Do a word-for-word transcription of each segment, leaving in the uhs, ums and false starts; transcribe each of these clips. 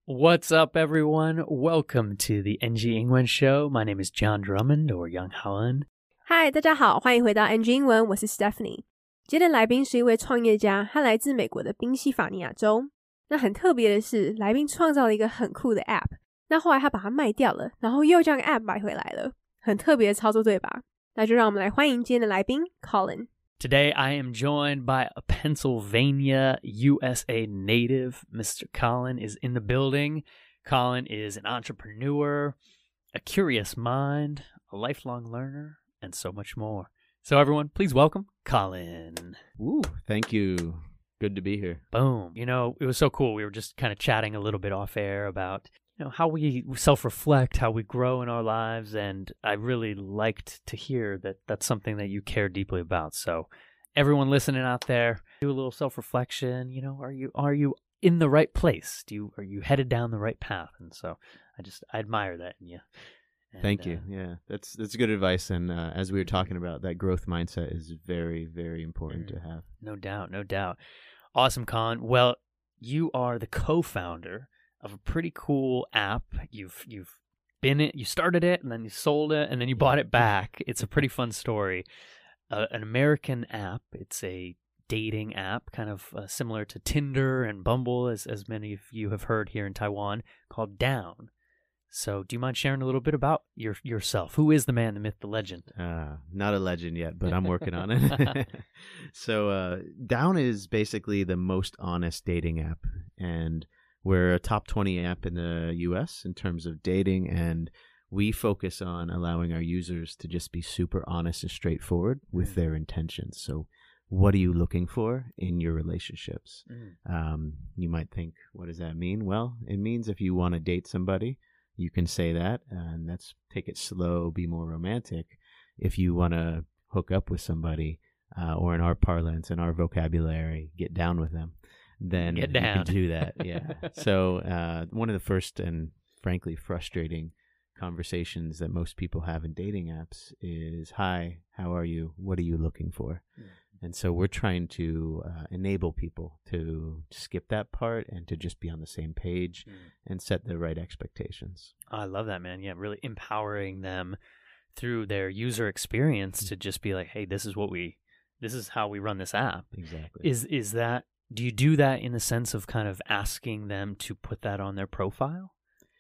What's up, everyone? Welcome to the N G 英文 Show. My name is John Drummond, or Young Holland. Hi, 大家好，欢迎回到 N G 英文，我是 Stephanie。今天的来宾是一位创业家，他来自美国的宾夕法尼亚州。那很特别的是，来宾创造了一个很酷的 App， 那后来他把它卖掉了，然后又将 App 买回来了，很特别的操作，对吧？那就让我们来欢迎今天的来宾 Colin。Today I am joined by a Pennsylvania, U S A native. Mister Colin is in the building. Colin is an entrepreneur, a curious mind, a lifelong learner, and so much more. So everyone, please welcome Colin. Ooh, thank you. Good to be here. Boom. You know, it was so cool. We were just kind of chatting a little bit off air about you know how we self-reflect, how we grow in our lives, and I really liked to hear that that's something that you care deeply about. So everyone listening out there, do a little self-reflection. You know, are you are you in the right place? Do you are you headed down the right path? And so I just I admire that in you. And, Thank you. Uh, yeah, that's that's good advice. And uh, as we were talking about, that growth mindset is very, very important mm, to have. No doubt, no doubt. Awesome, Colin. Well, you are the co-founder of a pretty cool app. You've you've been it, you started it, and then you sold it, and then you bought it back. It's a pretty fun story. Uh, an American app. It's a dating app, kind of uh, similar to Tinder and Bumble, as as many of you have heard here in Taiwan, called Down. So, do you mind sharing a little bit about your yourself? Who is the man, the myth, the legend? Uh, not a legend yet, but I'm working on it. So, uh, Down is basically the most honest dating app, and we're a top twenty app in the U S in terms of dating, and we focus on allowing our users to just be super honest and straightforward with mm. their intentions. So what are you looking for in your relationships? Mm. Um, you might think, what does that mean? Well, it means if you want to date somebody, you can say that, and that's take it slow, be more romantic. If you want to hook up with somebody, uh, or in our parlance, in our vocabulary, get down with them, then Get down. you can do that. Yeah. So uh, one of the first and frankly frustrating conversations that most people have in dating apps is, hi, how are you? What are you looking for? Mm. And so we're trying to uh, enable people to skip that part and to just be on the same page mm. and set the right expectations. I love that, man. Yeah, really empowering them through their user experience mm. to just be like, hey, this is what we, this is how we run this app. Exactly. Is is that, do you do that in the sense of kind of asking them to put that on their profile?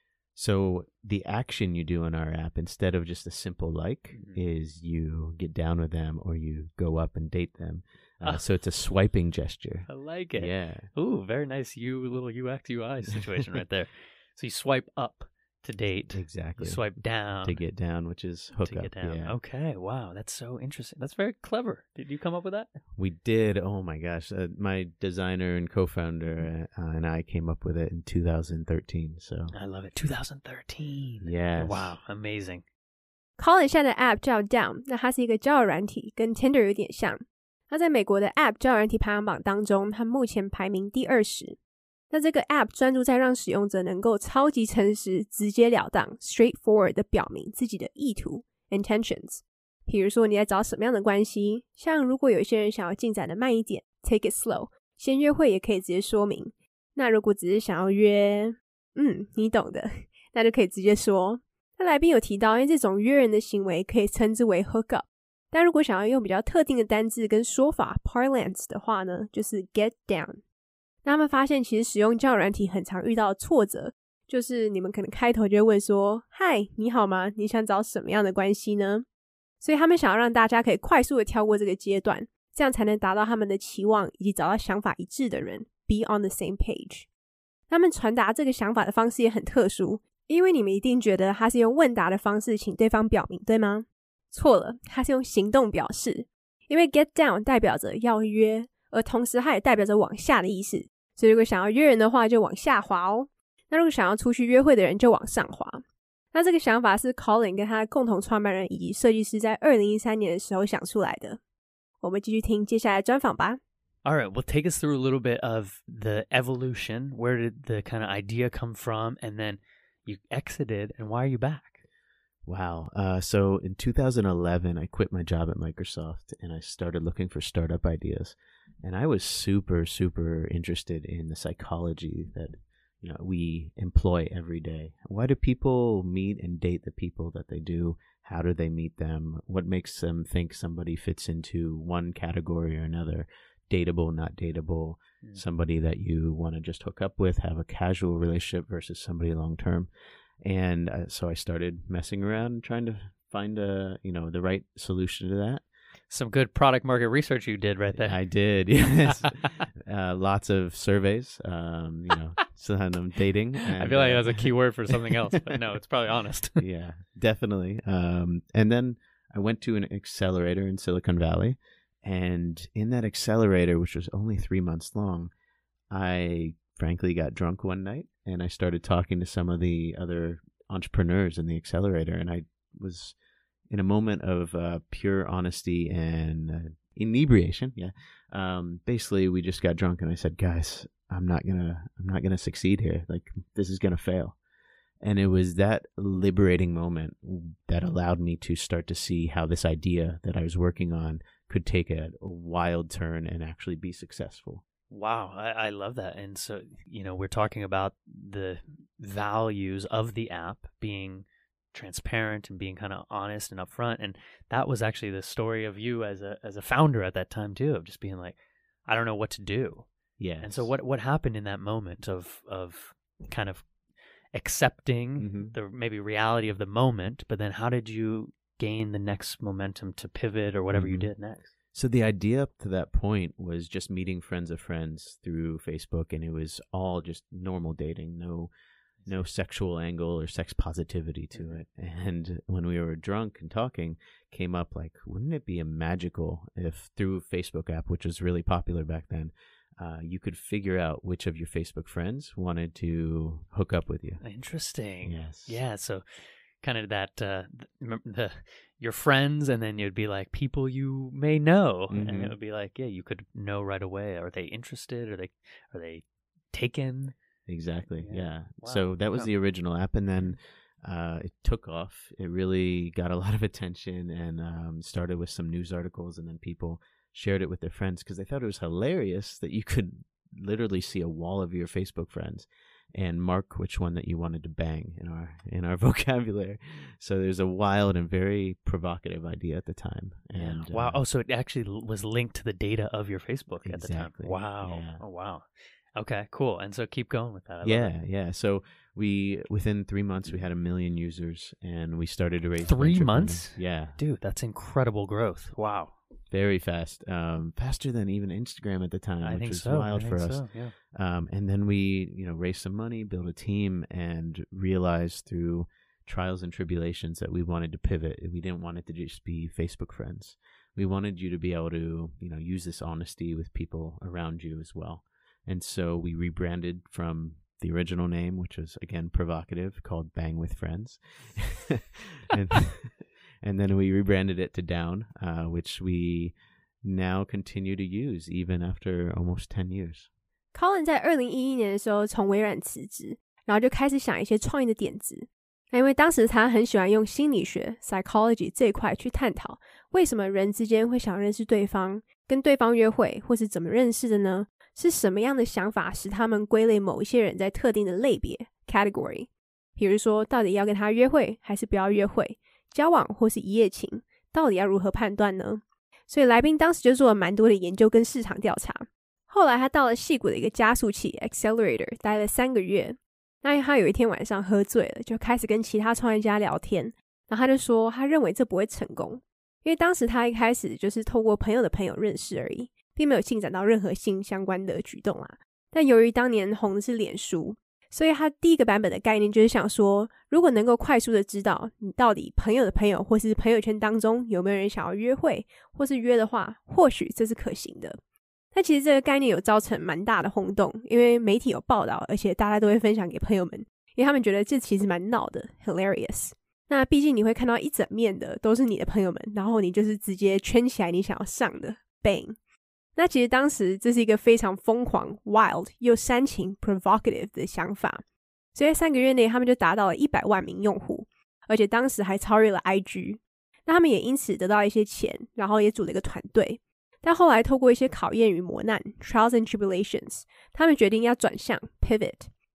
So the action you do in our app, instead of just a simple like, mm-hmm. is you get down with them or you go up and date them. Uh, uh, so it's a swiping gesture. I like it. Yeah. Ooh, very nice. You little U X U I situation right there. So you swipe up to date. Exactly. You swipe down. To get down, which is hook to up. get down. Yeah. Okay. Wow. That's so interesting. That's very clever. Did you come up with that? We did. Oh my gosh. Uh, my designer and co-founder uh, and I came up with it in two thousand thirteen. So I love it. two thousand thirteen. Yes. Wow. Amazing. Colin 下的 App 叫 Down， 那它是一个交友软体，跟 Tinder 有点像。那在美国的 App 交友软体排行榜当中，它目前排名第二十。那这个 App 专注在让使用者能够超级诚实、直截了当 straightforward 的表明自己的意图 intentions。比如说你在找什么样的关系，像如果有一些人想要进展的慢一点 take it slow， 先约会也可以直接说明。那如果只是想要约嗯你懂的，那就可以直接说。那来宾有提到，因为这种约人的行为可以称之为 hook up， 但如果想要用比较特定的单字跟说法 parlance 的话呢，就是 get down。那他们发现其实使用交友软体很常遇到的挫折，就是你们可能开头就会问说，嗨，你好吗？你想找什么样的关系呢？所以他们想要让大家可以快速的跳过这个阶段，这样才能达到他们的期望，以及找到想法一致的人 be on the same page。 他们传达这个想法的方式也很特殊，因为你们一定觉得他是用问答的方式请对方表明，对吗？错了，他是用行动表示，因为 get down 代表着要约，而同时它也代表着往下的意思，所以如果想要约人的话就往下滑哦，那如果想要出去约会的人就往上滑。那这个想法是 Colin 跟他的共同创办人以及设计师在二零一三年的时候想出来的。我们继续听接下来的专访吧。 All right, well, take us through a little bit of the evolution. Where did the kind of idea come from? And then you exited, and why are you back? Wow. Uh, so in two thousand eleven, I quit my job at Microsoft and I started looking for startup ideas. And I was super, super interested in the psychology that you know we employ every day. Why do people meet and date the people that they do? How do they meet them? What makes them think somebody fits into one category or another? Dateable, not dateable, mm. somebody that you want to just hook up with, have a casual relationship versus somebody long term. And uh, so I started messing around and trying to find a you know the right solution to that. Some good product market research you did right there. I did, yes. uh, lots of surveys, um, you know, some dating. And, I feel like uh, that's a key word for something else, but no, it's probably honest. Yeah, definitely. Um, and then I went to an accelerator in Silicon Valley. And in that accelerator, which was only three months long, I frankly got drunk one night and I started talking to some of the other entrepreneurs in the accelerator. And I was in a moment of uh, pure honesty and uh, inebriation. Yeah. Um, basically, we just got drunk and I said, guys, I'm not going to I'm not going to succeed here. Like, this is going to fail. And it was that liberating moment that allowed me to start to see how this idea that I was working on could take a, a wild turn and actually be successful. Wow, I, I love that. And so, you know, we're talking about the values of the app being transparent and being kind of honest and upfront. And that was actually the story of you as a as a founder at that time too, of just being like, I don't know what to do. Yeah. And so what what happened in that moment of of kind of accepting mm-hmm. the maybe reality of the moment, but then how did you gain the next momentum to pivot or whatever mm-hmm. you did next? So the idea up to that point was just meeting friends of friends through Facebook, and it was all just normal dating, no no sexual angle or sex positivity to mm-hmm. it. And when we were drunk and talking, came up like, wouldn't it be a magical if through Facebook app, which was really popular back then, uh, you could figure out which of your Facebook friends wanted to hook up with you. Interesting. Yes. Yeah. So kind of that, uh, the, the your friends, and then you'd be like people you may know, mm-hmm. and it would be like, yeah, you could know right away. Are they interested? Are they are they taken? Exactly. Yeah. yeah. Wow. So that was wow. the original app, and then uh, it took off. It really got a lot of attention, and um, started with some news articles, and then people shared it with their friends because they thought it was hilarious that you could literally see a wall of your Facebook friends and mark which one that you wanted to bang in our in our vocabulary. So there's a wild and very provocative idea at the time. And yeah. Wow. Uh, oh, so it actually was linked to the data of your Facebook exactly. at the time. Wow. Yeah. Oh, wow. Okay, cool. And so keep going with that. I yeah, yeah. So we within three months we had a million users, and we started to raise three months. Funding. Yeah, dude, that's incredible growth. Wow. Very fast, um, faster than even Instagram at the time, I which think was so. wild I for think us. So, yeah. Um, and then we, you know, raised some money, built a team, and realized through trials and tribulations that we wanted to pivot. We didn't want it to just be Facebook friends. We wanted you to be able to, you know, use this honesty with people around you as well. And so we rebranded from the original name, which was, again, provocative, called Bang with Friends. and, and then we rebranded it to Down, uh, which we now continue to use even after almost ten years. Colin 在二零一一年的时候从微软辞职，然后就开始想一些创意的点子。那因为当时他很喜欢用心理学 psychology 这一块去探讨为什么人之间会想认识对方，跟对方约会，或是怎么认识的呢？是什么样的想法使他们归类某一些人在特定的类别 category？ 比如说，到底要跟他约会还是不要约会？交往或是一夜情，到底要如何判断呢？所以来宾当时就做了蛮多的研究跟市场调查。后来他到了矽谷的一个加速器 accelerator 待了三个月。那他有一天晚上喝醉了，就开始跟其他创业家聊天，然后他就说他认为这不会成功，因为当时他一开始就是透过朋友的朋友认识而已，并没有进展到任何性相关的举动啦。但由于当年红的是脸书，所以他第一个版本的概念就是想说，如果能够快速的知道你到底朋友的朋友或是朋友圈当中有没有人想要约会，或是约的话，或许这是可行的。但其实这个概念有造成蛮大的轰动，因为媒体有报道，而且大家都会分享给朋友们，因为他们觉得这其实蛮闹的 hilarious。 那毕竟你会看到一整面的都是你的朋友们，然后你就是直接圈起来你想要上的 bang。 那其实当时这是一个非常疯狂 wild 又煽情 provocative 的想法，所以在三个月内他们就达到了一百万名用户，而且当时还超越了 I G。 那他们也因此得到一些钱，然后也组了一个团队。但后来透过一些考验与磨难 trials and tribulations， 他们决定要转向 pivot。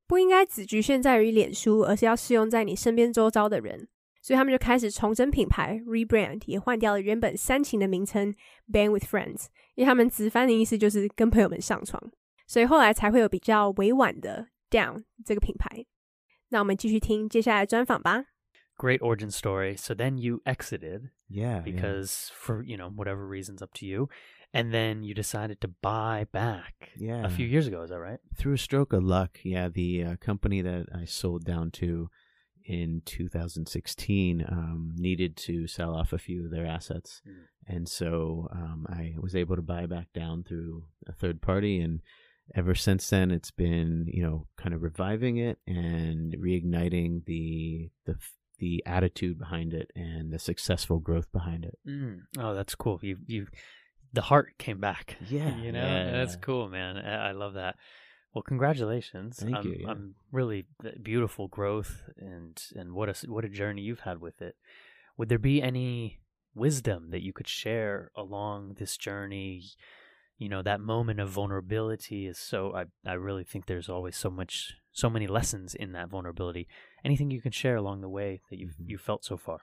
不应该只局限在于脸书，而是要适用在你身边周遭的人。所以他们就开始重整品牌 rebrand， 也换掉了原本煽情的名称 Bang with Friends， 因为他们直翻的意思就是跟朋友们上床，所以后来才会有比较委婉的 Down 这个品牌。那我们继续听接下来的专访吧。 Great origin story. So then you exited Yeah, because yeah. for, you know, whatever reasons up to you. And then you decided to buy back yeah. a few years ago. Is that right? Through a stroke of luck, yeah, the uh, company that I sold down to in two thousand sixteen um, needed to sell off a few of their assets. Mm. And so um, I was able to buy back down through a third party. And ever since then, it's been, you know, kind of reviving it and reigniting the the the attitude behind it and the successful growth behind it. Mm. Oh, that's cool. You you the heart came back. Yeah, you know, yeah. That's cool, man. I, I love that. Well, congratulations. Thank I'm, you. Yeah. I'm really beautiful growth and and what a what a journey you've had with it. Would there be any wisdom that you could share along this journey? You know, that moment of vulnerability is so. I I really think there's always so much, so many lessons in that vulnerability. Anything you can share along the way that you've mm-hmm. you felt so far?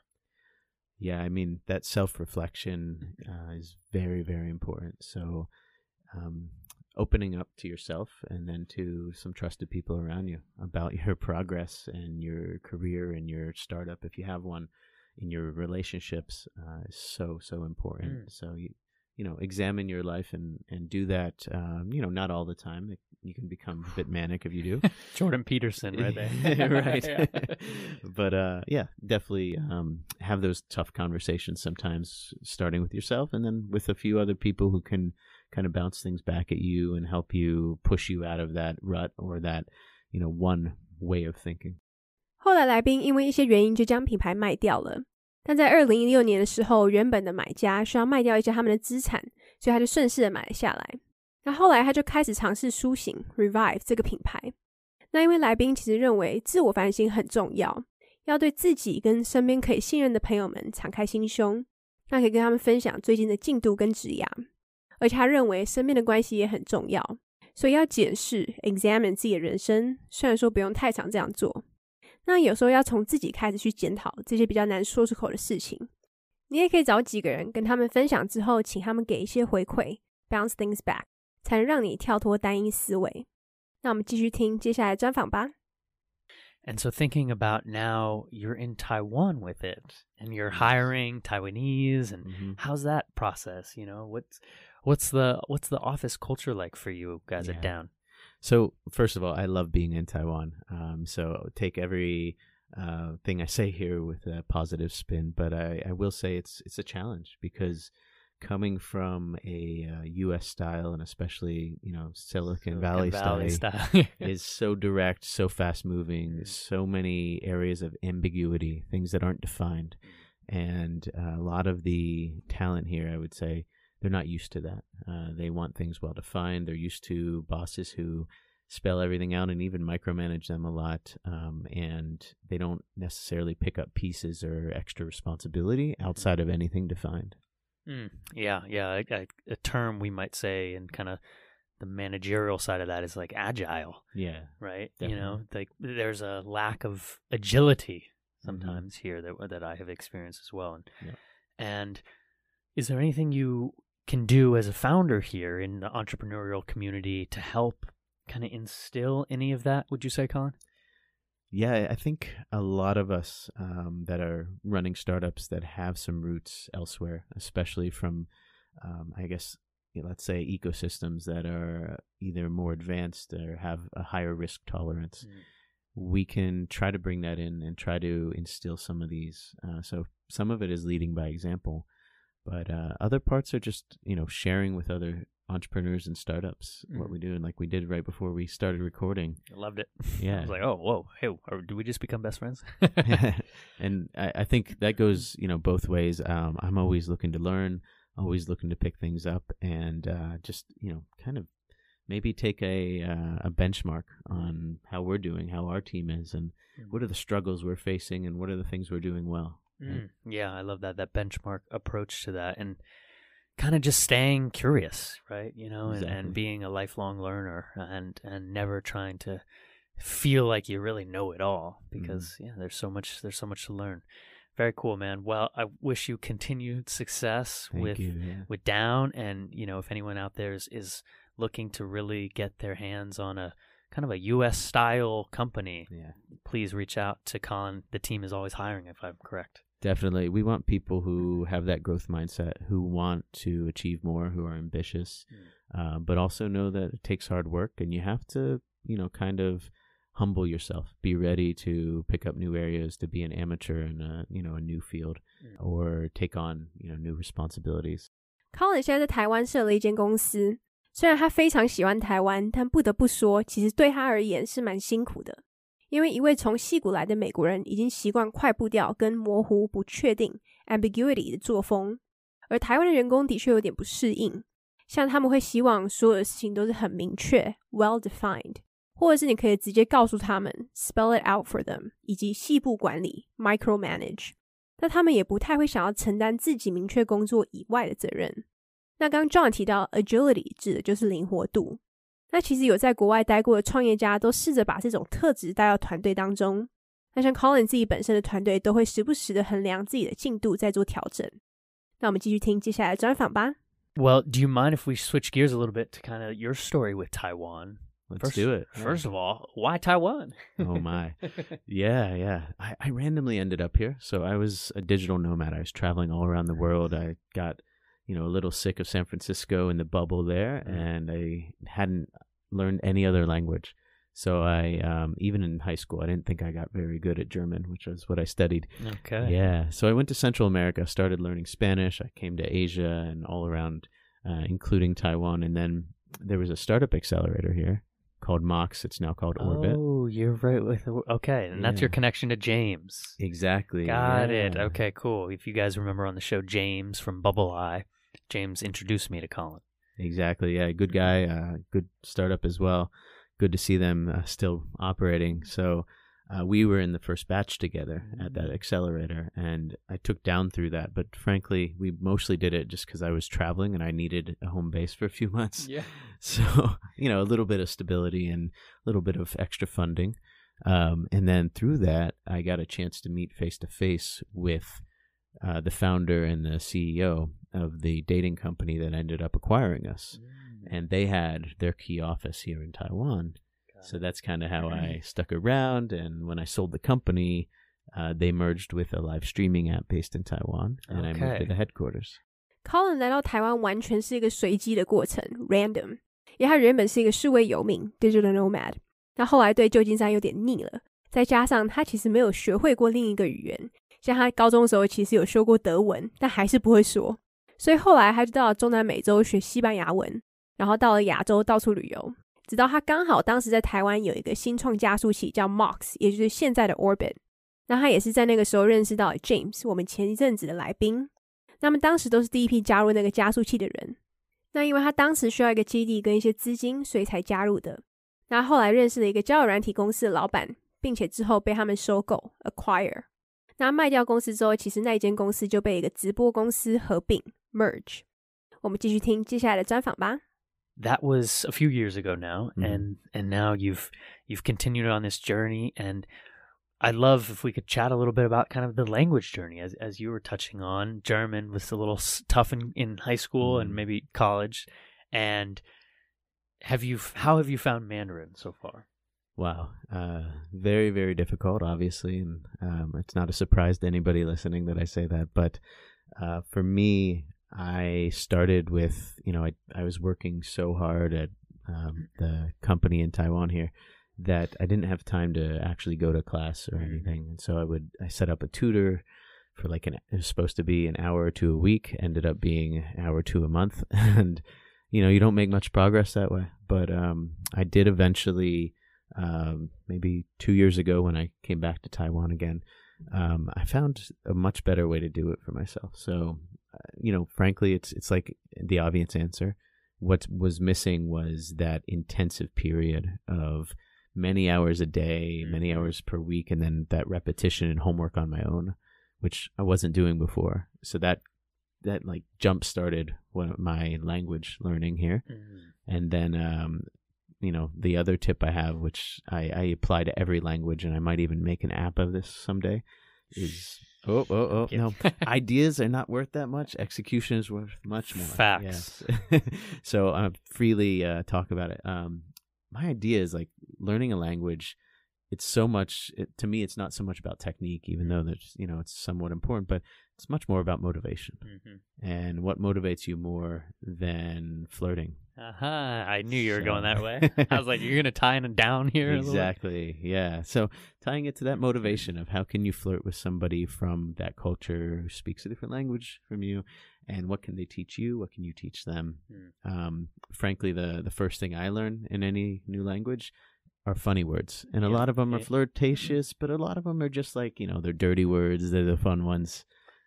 Yeah, I mean, that self-reflection uh, is very, very important. So um, opening up to yourself and then to some trusted people around you about your progress and your career and your startup, if you have one, in your relationships uh, is so, so important. Mm. So, you, you know, examine your life and, and do that, um, you know, not all the time. It, you can become a bit manic if you do. Jordan Peterson right there. Right. Yeah. But uh, yeah, definitely um, have those tough conversations sometimes, starting with yourself and then with a few other people who can kind of bounce things back at you and help you push you out of that rut or that, you know, one way of thinking. 后来来宾因为一些原因就将品牌卖掉了，但在二零一六年的时候，原本的买家需要卖掉一些他们的资产，所以他就顺势的买了下来。那后来他就开始尝试苏醒 Revive 这个品牌。那因为来宾其实认为自我反省很重要，要对自己跟身边可以信任的朋友们敞开心胸，那可以跟他们分享最近的进度跟职涯。而且他认为身边的关系也很重要，所以要检视 examine 自己的人生，虽然说不用太常这样做，那有时候要从自己开始去检讨这些比较难说出口的事情。你也可以找几个人跟他们分享之后，请他们给一些回馈 bounce things back， 才能让你跳脱单一思维。那我们继续听接下来的专访吧。 And so thinking about now you're in Taiwan with it and you're hiring Taiwanese and mm-hmm. how's that process? You know, what's what's the what's the office culture like for you guys yeah. at Down? So first of all, I love being in Taiwan. Um, so take every uh, thing I say here with a positive spin, but I, I will say it's it's a challenge because coming from a uh, U S style and especially, you know, Silicon, Silicon Valley, Valley style, style. is so direct, so fast moving, so many areas of ambiguity, things that aren't defined. And uh, a lot of the talent here, I would say, they're not used to that. Uh, they want things well defined. They're used to bosses who spell everything out and even micromanage them a lot. Um, and they don't necessarily pick up pieces or extra responsibility outside of anything defined. Mm, yeah, yeah. A, a term we might say in kind of the managerial side of that is like agile. Yeah. Right? Definitely. You know, like there's a lack of agility sometimes mm-hmm. here that that I have experienced as well. And, yeah. and is there anything you can do as a founder here in the entrepreneurial community to help kind of instill any of that, would you say, Colin? Yeah, I think a lot of us um, that are running startups that have some roots elsewhere, especially from, um, I guess, you know, let's say ecosystems that are either more advanced or have a higher risk tolerance, mm. we can try to bring that in and try to instill some of these. Uh, so some of it is leading by example, but uh, other parts are just, you know, sharing with other entrepreneurs and startups mm. what we do, and like we did right before we started recording. I loved it. Yeah. I was like, oh, whoa, hey, or do we just become best friends? And I, I think that goes, you know, both ways. Um, I'm always looking to learn, always looking to pick things up, and uh, just, you know, kind of maybe take a uh, a benchmark on how we're doing, how our team is, and mm. what are the struggles we're facing, and what are the things we're doing well. Mm. Right? Yeah, I love that that benchmark approach to that, and kind of just staying curious, right? You know, exactly. and, and being a lifelong learner, and and never trying to feel like you really know it all because mm. yeah, there's so much there's so much to learn. Very cool, man. Well, I wish you continued success Thank with you, yeah. with Down, and you know, if anyone out there is, is looking to really get their hands on a kind of a U S style company, yeah. please reach out to Colin. The team is always hiring, if I'm correct. Definitely. We want people who have that growth mindset, who want to achieve more, who are ambitious, mm. uh, but also know that it takes hard work, and you have to, you know, kind of humble yourself. Be ready to pick up new areas, to be an amateur in a, you know, a new field, mm. or take on, you know, new responsibilities. Colin 现在在台湾设了一间公司，虽然他非常喜欢台湾，但不得不说，其实对他而言是蛮辛苦的。因为一位从矽谷来的美国人已经习惯快步调跟模糊、不确定 ambiguity 的作风，而台湾的员工的确有点不适应，像他们会希望所有的事情都是很明确 well defined， 或者是你可以直接告诉他们 spell it out for them， 以及细部管理 micromanage， 但他们也不太会想要承担自己明确工作以外的责任。那刚刚 John 提到 agility 指的就是灵活度，那其实有在国外待过的创业家都试着把这种特质带到团队当中，那像 Colin 自己本身的团队都会时不时的衡量自己的进度再做调整。那我们继续听接下来的专访吧。 Well, do you mind if we switch gears a little bit to kind of your story with Taiwan? Let's first, do it. First yeah. of all, why Taiwan? Oh my. Yeah, yeah. I, I randomly ended up here. So I was a digital nomad. I was traveling all around the world. I got, you know, a little sick of San Francisco and the bubble there, mm. and I hadn't learned any other language. So I, um, even in high school, I didn't think I got very good at German, which was what I studied. Okay. Yeah. So I went to Central America, started learning Spanish. I came to Asia and all around, uh, including Taiwan. And then there was a startup accelerator here called Mox. It's now called Orbit. Oh, you're right with okay, and yeah. that's your connection to James. Exactly. Got yeah. it. Okay, cool. If you guys remember on the show, James from Bubble Eye, James introduced me to Colin. Exactly. Yeah, good guy. Uh, good startup as well. Good to see them uh, still operating. So uh, we were in the first batch together at that accelerator, and I took Down through that. But frankly, we mostly did it just because I was traveling and I needed a home base for a few months. Yeah. So, you know, a little bit of stability and a little bit of extra funding. Um, and then through that, I got a chance to meet face-to-face with uh, the founder and the C E O of the dating company that ended up acquiring us. Mm. And they had their key office here in Taiwan. So that's kind of how I stuck around. And when I sold the company, uh, they merged with a live streaming app based in Taiwan. And okay. I moved to the headquarters. Colin 来到台湾完全是一个随机的过程 random， 因为他原本是一个数位游民 digital nomad， 那后来对旧金山有点腻了，再加上他其实没有学会过另一个语言，像他高中的时候其实有修过德文，但还是不会说，所以后来他就到了中南美洲学西班牙文，然后到了亚洲到处旅游，直到他刚好当时在台湾有一个新创加速器叫 Mox， 也就是现在的 Orbit。 那他也是在那个时候认识到了 James， 我们前一阵子的来宾，那么当时都是第一批加入那个加速器的人。那因为他当时需要一个基地跟一些资金，所以才加入的。那后来认识了一个交友软体公司的老板，并且之后被他们收购 acquire。 那卖掉公司之后，其实那一间公司就被一个直播公司合并 merge。 我们继续听接下来的专访吧。 That was a few years ago now, mm-hmm. and and now you've you've continued on this journey, and I'd love if we could chat a little bit about kind of the language journey, as as you were touching on. German was a little tough in, in high school mm-hmm. and maybe college, and have you how have you found Mandarin so far? Wow, uh, very very difficult, obviously, and um, it's not a surprise to anybody listening that I say that, but uh, for me, I started with, you know, I, I was working so hard at um, the company in Taiwan here that I didn't have time to actually go to class or anything. And so I would, I set up a tutor for like an, it was supposed to be an hour or two a week, ended up being an hour or two a month. And, you know, you don't make much progress that way. But um, I did eventually, um, maybe two years ago when I came back to Taiwan again, um, I found a much better way to do it for myself. So, you know, frankly, it's it's like the obvious answer. What was missing was that intensive period of many hours a day, mm-hmm. many hours per week, and then that repetition and homework on my own, which I wasn't doing before. So that that like jump started my language learning here, mm-hmm. and then um, you know, the other tip I have, which I, I apply to every language, and I might even make an app of this someday, is oh oh oh no, ideas are not worth that much. Execution is worth much more. Facts. Yes. So I uh, freely uh, talk about it. Um, my idea is like learning a language. It's so much it, to me. It's not so much about technique, even though there's you know it's somewhat important, but it's much more about motivation. Mm-hmm. And what motivates you more than flirting? Uh-huh. I knew you were so. going that way. I was like, you're gonna tie it down here. Exactly. Yeah. So tying it to that motivation of how can you flirt with somebody from that culture who speaks a different language from you, and what can they teach you? What can you teach them? Mm. Um, frankly, the the first thing I learn in any new language are funny words, and a yeah. lot of them are flirtatious, but a lot of them are just like, you know, they're dirty words. They're the fun ones.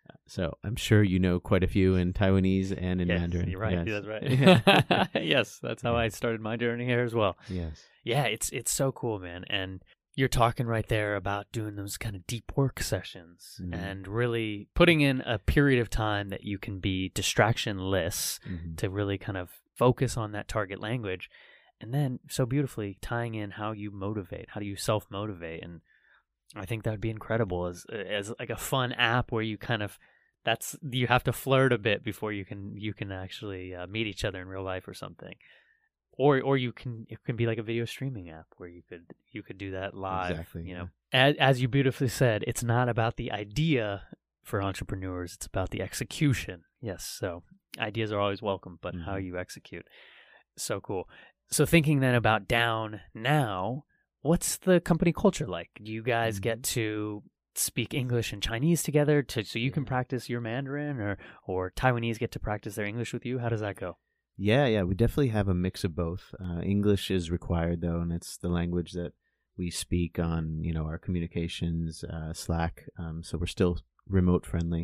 So I'm sure you know quite a few in Taiwanese and in yes, Mandarin. You're right. Yes. That's right. Yes, that's how I started my journey here as well. Yes. Yeah, it's it's so cool, man. And you're talking right there about doing those kind of deep work sessions mm-hmm. and really putting in a period of time that you can be distractionless mm-hmm. to really kind of focus on that target language. And then so beautifully tying in how you motivate, how do you self-motivate. And I think that would be incredible as as like a fun app where you kind of, that's, you have to flirt a bit before you can you can actually uh, meet each other in real life or something. Or or you can, it can be like a video streaming app where you could you could do that live. Exactly. You know, as, as you beautifully said, it's not about the idea for entrepreneurs, it's about the execution. Yes, so ideas are always welcome, but mm-hmm. how you execute. So cool. So thinking then about Down now, what's the company culture like? Do you guys mm-hmm. get to speak English and Chinese together to so you yeah. can practice your Mandarin, or or Taiwanese get to practice their English with you? How does that go? Yeah, yeah, we definitely have a mix of both. Uh, English is required though, and it's the language that we speak on, you know, our communications, uh, Slack. Um, so we're still remote friendly,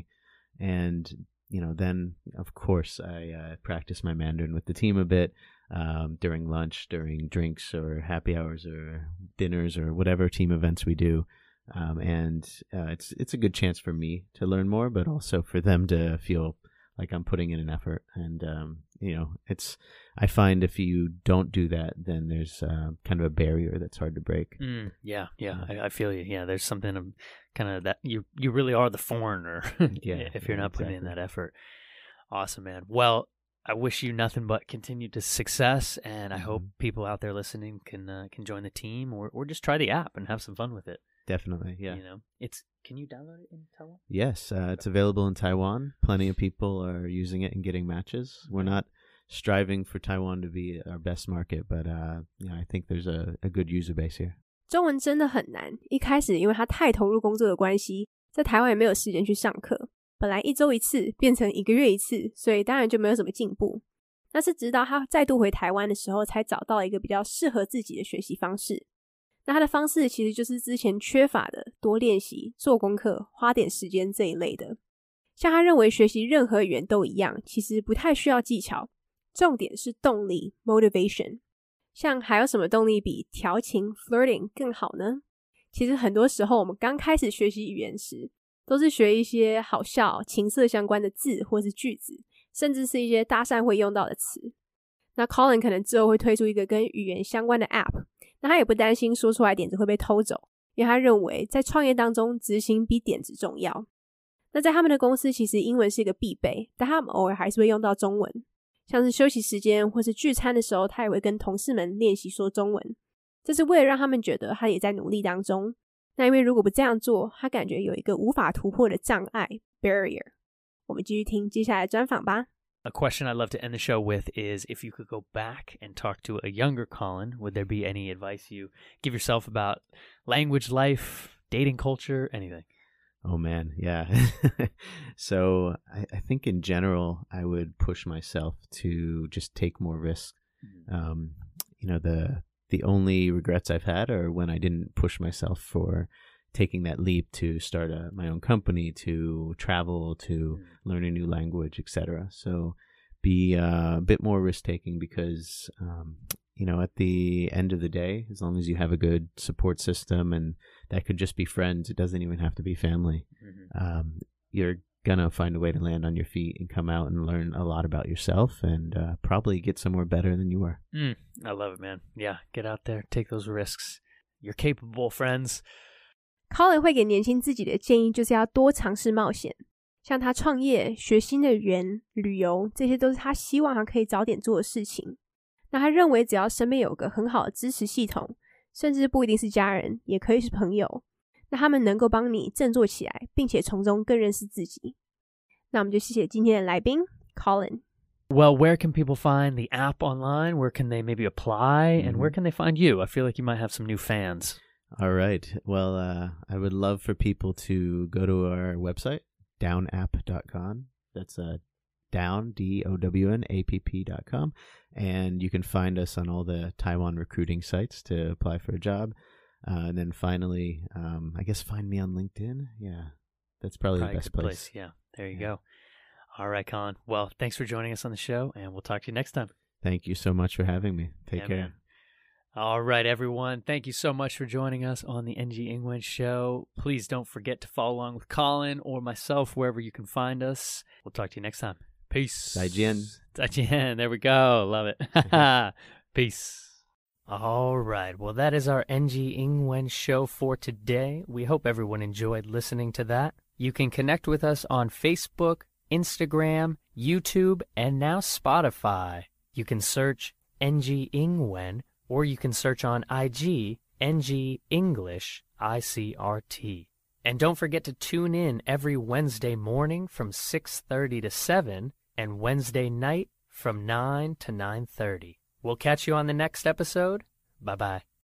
and you know, then of course I uh, practice my Mandarin with the team a bit. Um, during lunch, during drinks or happy hours or dinners or whatever team events we do. Um, and uh, it's it's a good chance for me to learn more, but also for them to feel like I'm putting in an effort. And, um, you know, it's, I find if you don't do that, then there's uh, kind of a barrier that's hard to break. Mm, yeah, yeah, I, I feel you. Yeah, there's something of kind of that, you, you really are the foreigner yeah, if you're yeah, not putting exactly. in that effort. Awesome, man. Well, I wish you nothing but continued success, and I mm-hmm. hope people out there listening can uh, can join the team, or, or just try the app and have some fun with it. Definitely, yeah. You know, it's can you download it in Taiwan? Yes, uh, it's available in Taiwan. Plenty of people are using it and getting matches. We're not striving for Taiwan to be our best market, but uh, yeah, I think there's a, a good user base here. 中文真的很难，一开始因为他太投入工作的关系，在台湾也没有时间去上课。本来一周一次变成一个月一次，所以当然就没有什么进步。那是直到他再度回台湾的时候，才找到一个比较适合自己的学习方式。那他的方式其实就是之前缺乏的多练习、做功课、花点时间这一类的。像他认为学习任何语言都一样，其实不太需要技巧，重点是动力 motivation。像还有什么动力比调情 flirting 更好呢？其实很多时候我们刚开始学习语言时，都是学一些好笑、情色相关的字或是句子，甚至是一些搭讪会用到的词。那 Colin 可能之后会推出一个跟语言相关的 app， 那他也不担心说出来点子会被偷走，因为他认为在创业当中执行比点子重要。那在他们的公司其实英文是一个必备，但他们偶尔还是会用到中文，像是休息时间或是聚餐的时候，他也会跟同事们练习说中文，这是为了让他们觉得他也在努力当中。那因为如果不这样做，他感觉有一个无法突破的障碍 barrier。 我们继续听接下来的专访吧。 A question I'd love to end the show with is, if you could go back and talk to a younger Colin, would there be any advice you give yourself about language, life, dating culture, anything? Oh man, yeah. So I, I think in general, I would push myself to just take more risks. Mm-hmm. Um, you know, the the only regrets I've had are when I didn't push myself for taking that leap to start a, my own company, to travel, to mm-hmm. learn a new language, et cetera. So be uh, a bit more risk-taking because, um, you know, at the end of the day, as long as you have a good support system, and that could just be friends, it doesn't even have to be family, mm-hmm. um, you're gonna find a way to land on your feet and come out and learn a lot about yourself and uh, probably get somewhere better than you were. Mm, I love it, man. Yeah, get out there, take those risks. You're capable, friends. Colin 会给年轻自己的建议就是要多尝试冒险，像他创业、学新的语言、旅游，这些都是他希望他可以早点做的事情。那他认为只要身边有个很好的支持系统，甚至不一定是家人，也可以是朋友，那他们能够帮你振作起来，并且从中更认识自己。那我们就谢谢今天的来宾 Colin。 Well, where can people find the app online? Where can they maybe apply? And where can they find you? I feel like you might have some new fans. All right. Well, uh, I would love for people to go to our website, down app dot com. That's uh, down, D O W N A P P dot com. And you can find us on all the Taiwan recruiting sites to apply for a job. Uh, and then finally, um, I guess find me on LinkedIn. Yeah, that's probably, probably the best place. place. Yeah, there you yeah. go. All right, Colin. Well, thanks for joining us on the show, and we'll talk to you next time. Thank you so much for having me. Take yeah, care. Man. All right, everyone. Thank you so much for joining us on the N G Ingwen Show. Please don't forget to follow along with Colin or myself wherever you can find us. We'll talk to you next time. Peace. 再见. 再见. There we go. Love it. Peace. All right. Well, that is our N G Ingwen Show for today. We hope everyone enjoyed listening to that. You can connect with us on Facebook, Instagram, YouTube, and now Spotify. You can search N G Ingwen, or you can search on I G, N G English I C R T. And don't forget to tune in every Wednesday morning from six thirty to seven and Wednesday night from nine to nine thirty. We'll catch you on the next episode. Bye-bye.